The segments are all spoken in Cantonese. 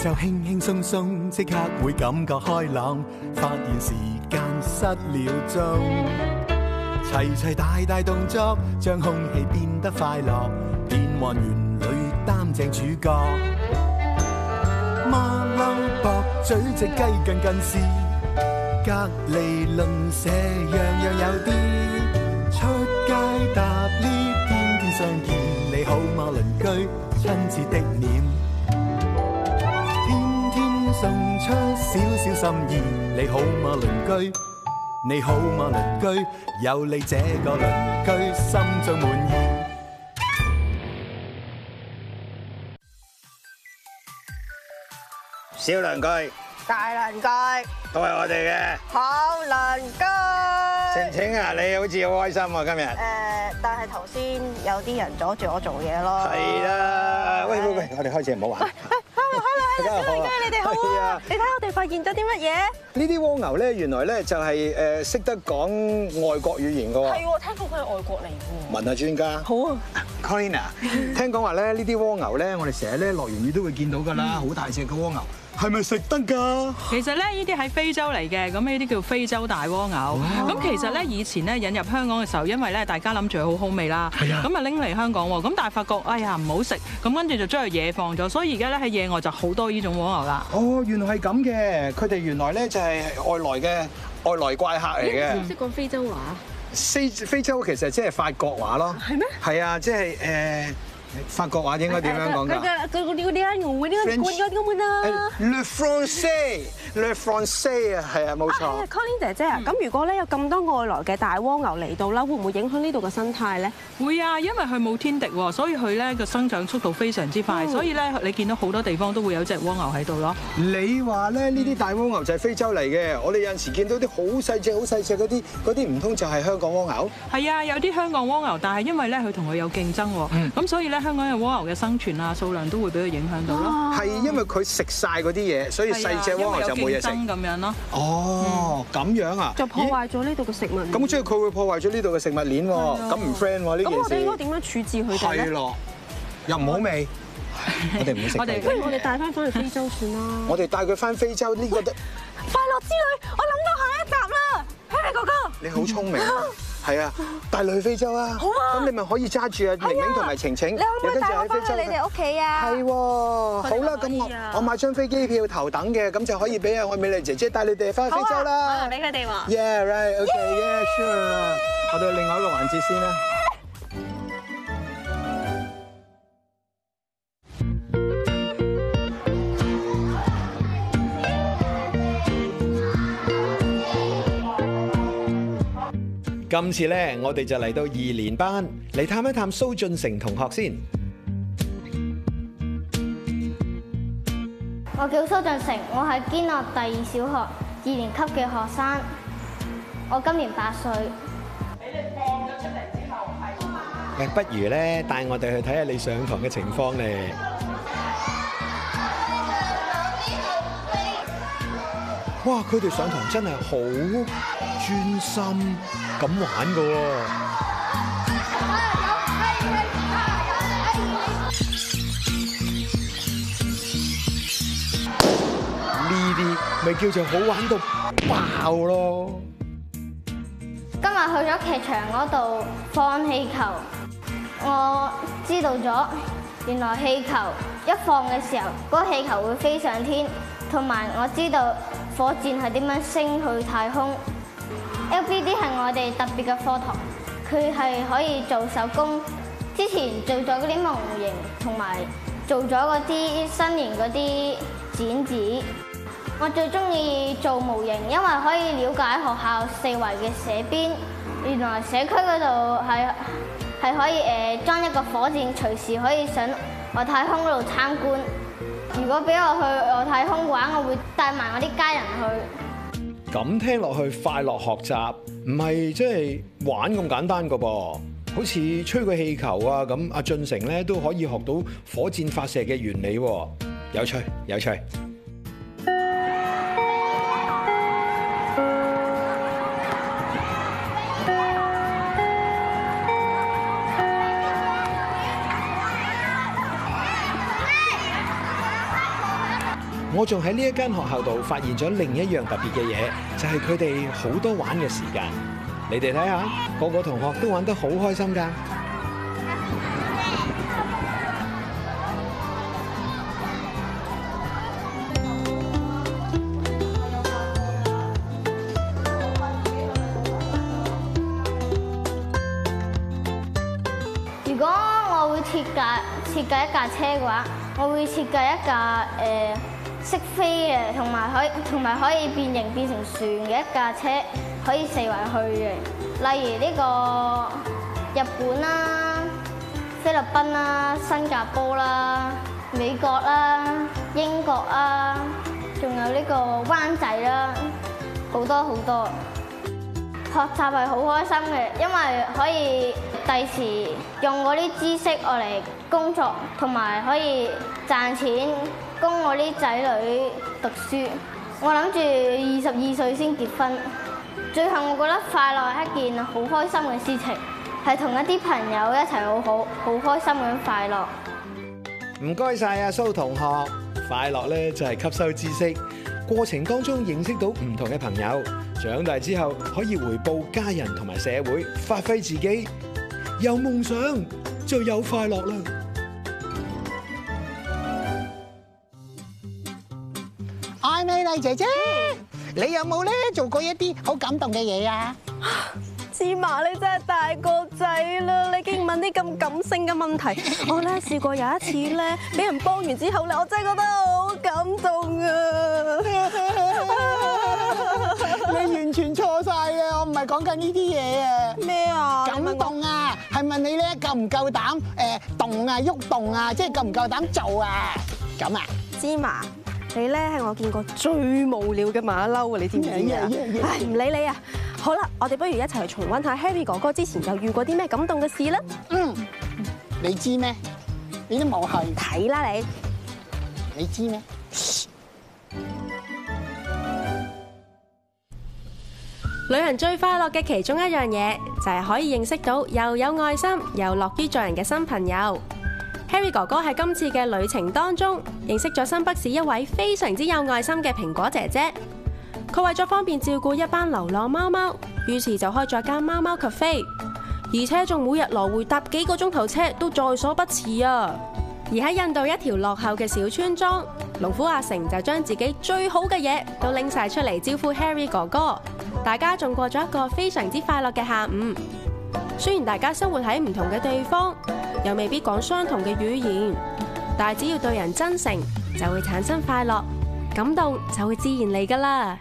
就輕輕鬆鬆，即刻會感覺開朗，發現時間失了蹤。齊齊大大動作，將空氣變得快樂，變幻園裏擔正主角。馬騮駁嘴隻雞近近視，隔離鄰舍樣樣有啲。出街搭 lift， 天天相見，你好嗎鄰居？親切的臉，天天送出少少心意，你好嗎鄰居？你好嗎鄰居？有你這個鄰居，心中滿意。 小鄰居、 大鄰居都係我哋嘅好鄰居。 晴晴啊，你好似好開心啊今日。 但係頭先有啲人阻住我做嘢咯。 係啦，喂，我哋開始唔好玩。 Hello， 小鄰居你哋好啊！你睇我哋發現咗啲乜嘢？ 呢啲蝸牛咧，原來咧就係識得講外國語言㗎喎。 係喎，聽講佢係外國嚟㗎。 問下專家。 好啊 ，Carina， 聽講話咧呢啲蝸牛咧，我哋成日咧落完雨都會見到㗎啦，好大隻嘅蝸牛。係咪食得㗎？ 其實咧，呢啲喺非洲嚟嘅，咁呢啲叫非洲大蝸牛。咁其實咧，以前咧引入香港嘅時候，因為咧大家諗住佢好好味啦，咁啊拎嚟香港喎，咁但係發覺哎呀唔好食，咁跟住就將佢野放咗，所以而家咧喺野外就好多呢種蝸牛啦。 哦，原來係咁嘅，佢哋原來咧就係外來怪客嚟嘅。 識唔識講非洲話？ 非洲其實即係法國話咯。係咩？係啊，即係法國話應該點樣講㗎？ 嗰啲啊，我啲咁啊。 Le français 啊，係啊，冇錯。 Colin 姐姐啊，咁如果咧有咁多外來嘅大蝸牛嚟到啦，會唔會影響呢度嘅生態咧？ 會啊，因為佢冇天敵喎，所以佢咧個生長速度非常之快，所以咧你見到好多地方都會有隻蝸牛喺度咯。 你話咧呢啲大蝸牛就係非洲嚟嘅，我哋有陣時見到啲好細隻嗰啲唔通就係香港蝸牛？ 係啊，有啲香港蝸牛，但係因為咧佢同佢有競爭喎，咁所以咧香港嘅蝸牛嘅生存啊數量都會俾佢影響到咯。 係因為佢食晒嗰啲嘢，所以細隻蝸牛就冇嘢食咁樣咯。 哦，咁樣啊？ 就破壞咗呢度嘅食物鏈。 咁即係佢會破壞咗呢度嘅食物鏈喎，咁唔 friend 喎呢件事。 咁我哋應該點樣處置佢哋咧？ 係咯，又唔好味，我哋唔會食。 不如我哋帶翻去非洲算啦。 我哋帶佢翻非洲呢個得。 快樂之旅，我諗到下一集啦，希利哥哥。 你好聰明，係啊，帶你去非洲啊！好啊，咁你咪可以揸住啊明明同埋晴晴， 你可唔可以帶我翻去你哋屋企啊？ 係喎，好啦，咁我買張飛機票頭等嘅，咁就可以俾阿愛美麗姐姐帶你哋翻去非洲啦。 我俾佢哋喎。 Yeah, right, okay, yeah, sure。我哋另外一個環節先啦。今次咧，我哋就嚟到2年班嚟探一探蘇俊成同學先。 我叫蘇俊成，我係堅樂第2小學2年級嘅學生，我今年8歲。 俾你放咗出嚟之後係。 不如咧帶我哋去睇下你上堂嘅情況咧。哇！佢哋上堂真係好專心咁玩㗎喎。呢啲咪叫做好玩到爆咯！ 今日去咗劇場嗰度放氣球，我知道咗原來氣球一放嘅時候，嗰個氣球會飛上天，同埋我知道火箭係點樣升去太空。LBD 係我哋特別嘅課堂，佢係可以做手工。之前做咗嗰啲模型，同埋做咗嗰啲新年嗰啲剪紙。我最中意做模型，因為可以了解學校四圍嘅社邊。原來社區嗰度係可以裝一個火箭，隨時可以上外太空嗰度參觀。如果俾我去外太空嘅話，我會帶埋我啲家人去。 咁聽落去快樂學習，唔係即係玩咁簡單㗎噃。好似吹個氣球啊咁，阿俊成咧都可以學到火箭發射嘅原理喎，有趣有趣。 我仲喺呢一間學校度發現咗另一樣特別嘅嘢，就係佢哋好多玩嘅時間。你哋睇下，個個同學都玩得好開心㗎。 如果我會設計一架車嘅話，我會設計一架識飛嘅，同埋可以變形變成船嘅一架車，可以四圍去嘅。例如呢個日本啦、菲律賓啦、新加坡啦、美國啦、英國啦，仲有呢個灣仔啦，好多好多。學習係好開心嘅，因為可以第時用嗰啲知識我嚟工作，同埋可以賺錢供我啲仔女讀書。我諗住22歲先結婚。最後我覺得快樂係一件好開心嘅事情，係同一啲朋友一齊好開心咁快樂。 唔該晒阿蘇同學，快樂咧就係吸收知識，過程當中認識到唔同嘅朋友，長大之後可以回報家人同埋社會，發揮自己，有夢想就有快樂啦。 愛美麗姐姐，你有冇咧做過一啲好感動嘅嘢啊？ 芝麻，你真係大個仔啦！你竟然問啲咁感性嘅問題。我咧試過有一次咧，俾人幫完之後咧，我真係覺得好感動啊！ 你完全錯晒嘅，我唔係講緊呢啲嘢啊！ 咩啊？ 感動啊，係問你咧夠唔夠膽動啊、喐動啊，即係夠唔夠膽做啊？咁啊？ 芝麻，你咧係我見過最無聊嘅馬騮啊！你知唔知啊？唉，唔理你啊！好啦，我哋不如一齊去重溫下 Harry 哥哥之前又遇過啲咩感動嘅事啦。 你知咩？你都冇去睇啦你。 你知咩？ 旅行最快樂嘅其中一樣嘢，就係可以認識到又有愛心又樂於助人嘅新朋友。Harry 哥哥喺今次嘅旅程當中，認識咗新北市一位非常之有愛心嘅蘋果姐姐。佢為咗方便照顧一班流浪貓貓，於是就開咗間貓貓 cafe， 而且仲每日來回搭幾個鐘頭車都在所不辭啊！而喺印度一條落後嘅小村莊，農夫阿成就將自己最好嘅嘢都拎晒出嚟招呼 Harry 哥哥，大家仲過咗一個非常之快樂嘅下午。雖然大家生活喺唔同嘅地方，又未必講相同嘅語言，但係只要對人真誠，就會產生快樂，感動就會自然嚟㗎啦。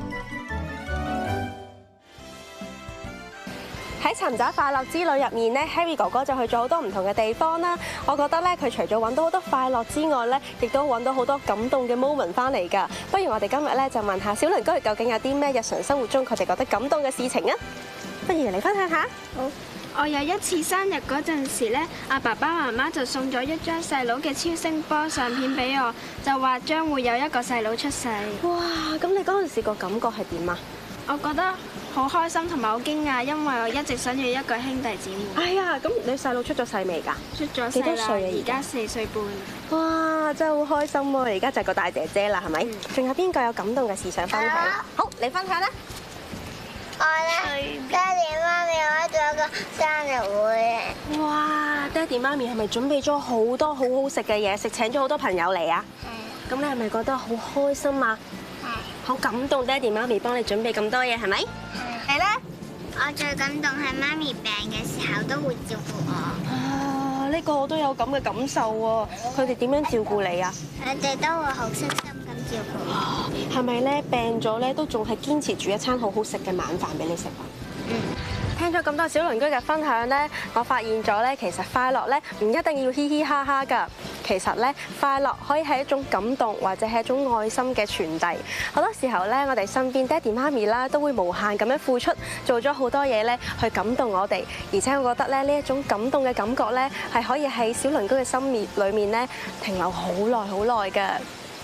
喺尋找快樂之旅入面咧 ，Harry 哥哥就去咗好多唔同嘅地方啦。我覺得咧，佢除咗揾到好多快樂之外咧，亦都揾到好多感動嘅 moment 翻嚟㗎。不如我哋今日咧就問下小鄰居究竟有啲咩日常生活中佢哋覺得感動嘅事情啊？不如嚟分享下。 好，我有一次生日嗰陣時咧，阿爸爸媽媽就送咗一張細佬嘅超聲波相片俾我，就話將會有一個細佬出世。 哇！咁你嗰陣時個感覺係點啊？ 我覺得好開心同埋好驚訝，因為我一直想要一個兄弟姊妹。 哎呀，咁你細佬出咗世未㗎？ 出咗世啦， 幾多歲啊？ 而家4歲半。 哇！真係好開心喎！而家就係個大姐姐啦，係咪？仲有邊個有感動嘅事想分享？好，你分享啦。 我咧，爹哋媽咪開咗個生日會。 哇！爹哋媽咪係咪準備咗好多好好食嘅嘢食，請咗好多朋友嚟啊？咁你係咪覺得好開心啊？好感動，爹哋媽咪幫你準備咁多嘢，係咪？ 係咧，我最感動係媽咪病嘅時候都會照顧我。 啊！呢個我都有咁嘅感受喎。佢哋點樣照顧你啊？ 佢哋都會好悉心咁照顧我。 係咪咧病咗咧都仲係堅持煮一餐好好食嘅晚飯俾你食啊？聽咗咁多小鄰居嘅分享咧，我發現咗咧，其實快樂咧唔一定要嘻嘻哈哈㗎。其實咧，快樂可以係一種感動，或者係一種愛心嘅傳遞。好多時候咧，我哋身邊爹哋媽咪啦，都會無限咁樣付出，做咗好多嘢咧，去感動我哋。而且我覺得咧，呢一種感動嘅感覺咧，係可以喺小鄰居嘅心裏面咧停留好耐好耐㗎。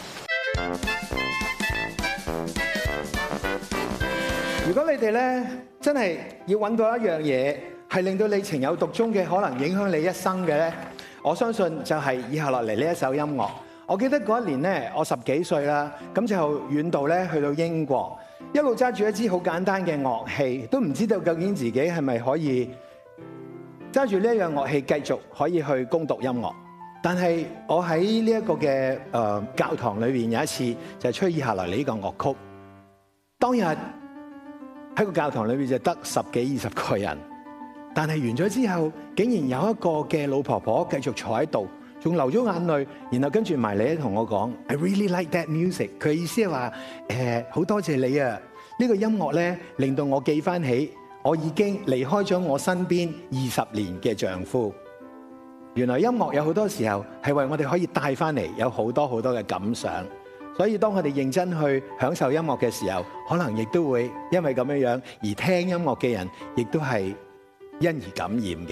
如果你哋咧真係要揾到一樣嘢係令到你情有獨鍾嘅，可能影響你一生嘅咧，我相信就係以下落嚟呢一首音樂。 我記得嗰一年咧，我10幾歲啦，咁就遠道咧去到英國，一路揸住一支好簡單嘅樂器，都唔知道究竟自己係咪可以揸住呢一樣樂器繼續可以去攻讀音樂。但係我喺呢一個嘅教堂裏邊有一次就係吹以下來呢個樂曲，當日喺個教堂裏邊就得10幾20個人，但係完咗之後，竟然有一個嘅老婆婆繼續坐喺度。仲流咗眼淚，然後跟住埋嚟同我講 I really like that music。佢意思係話好多謝你啊！呢個音樂咧令到我記翻起我已經離開咗我身邊20年嘅丈夫。原來音樂有好多時候係為我哋可以帶翻嚟有好多好多嘅感想。所以當我哋認真去享受音樂嘅時候，可能亦都會因為咁樣樣而聽音樂嘅人，亦都係因而感染嘅。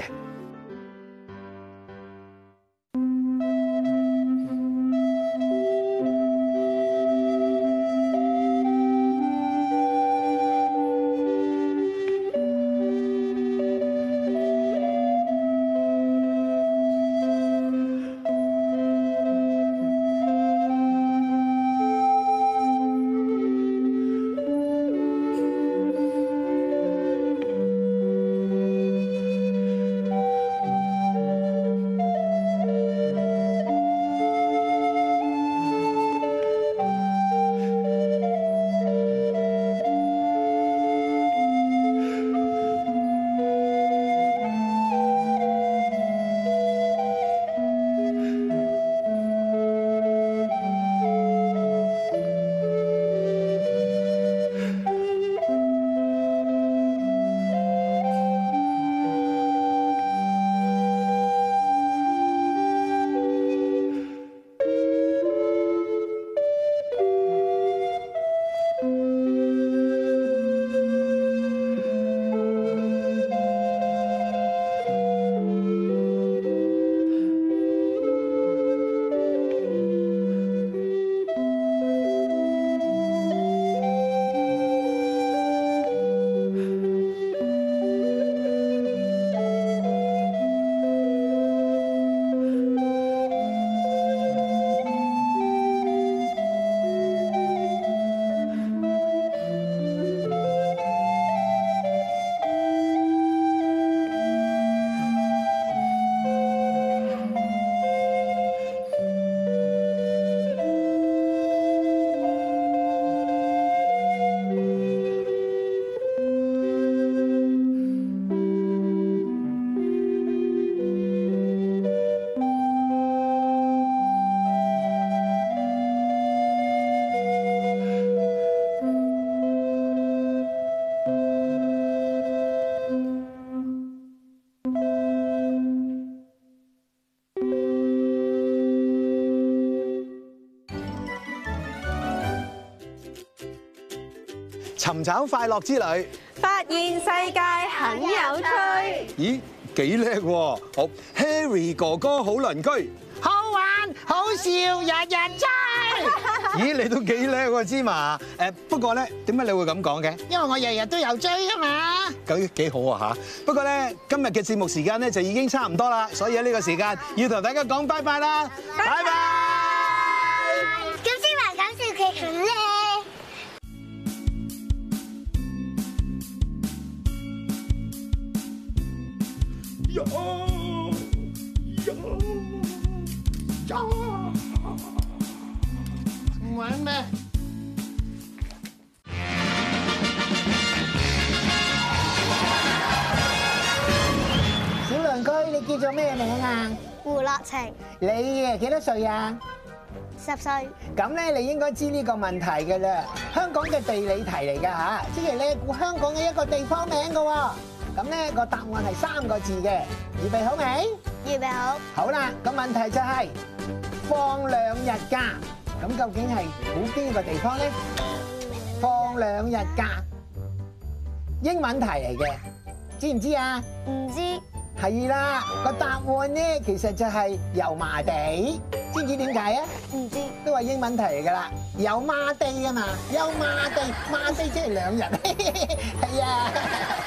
尋找快樂之旅， 發現世界很有趣。 咦，幾叻喎！好 ，Harry 哥哥好鄰居， 好玩好笑，日日追。 咦，你都幾叻喎，芝麻。不過咧，點解你會咁講嘅？ 因為我日日都有追啊嘛。 咁幾好啊嚇！不過咧，今日嘅節目時間咧就已經差唔多啦，所以喺呢個時間要同大家講拜拜啦，拜拜。 咁芝麻講笑劇團咧。 唔玩咩？小鄰居，你叫做咩名啊？ 胡樂晴， 你幾多歲啊 10歲。 咁咧，你應該知呢個問題嘅啦。香港嘅地理題嚟㗎嚇，即係咧估香港嘅一個地方名㗎喎。咁咧個答案係3個字嘅，預備好未？ 預備好。 好啦，個問題就係放2日假，咁究竟係估邊個地方咧？放2日假，英文題嚟嘅，知唔知啊？ 唔知。 係啦，個答案咧其實就係油麻地，知唔知點解啊？ 唔知。 都係英文題嚟㗎啦，油麻地啊嘛，油麻地，麻地即係2日，係啊。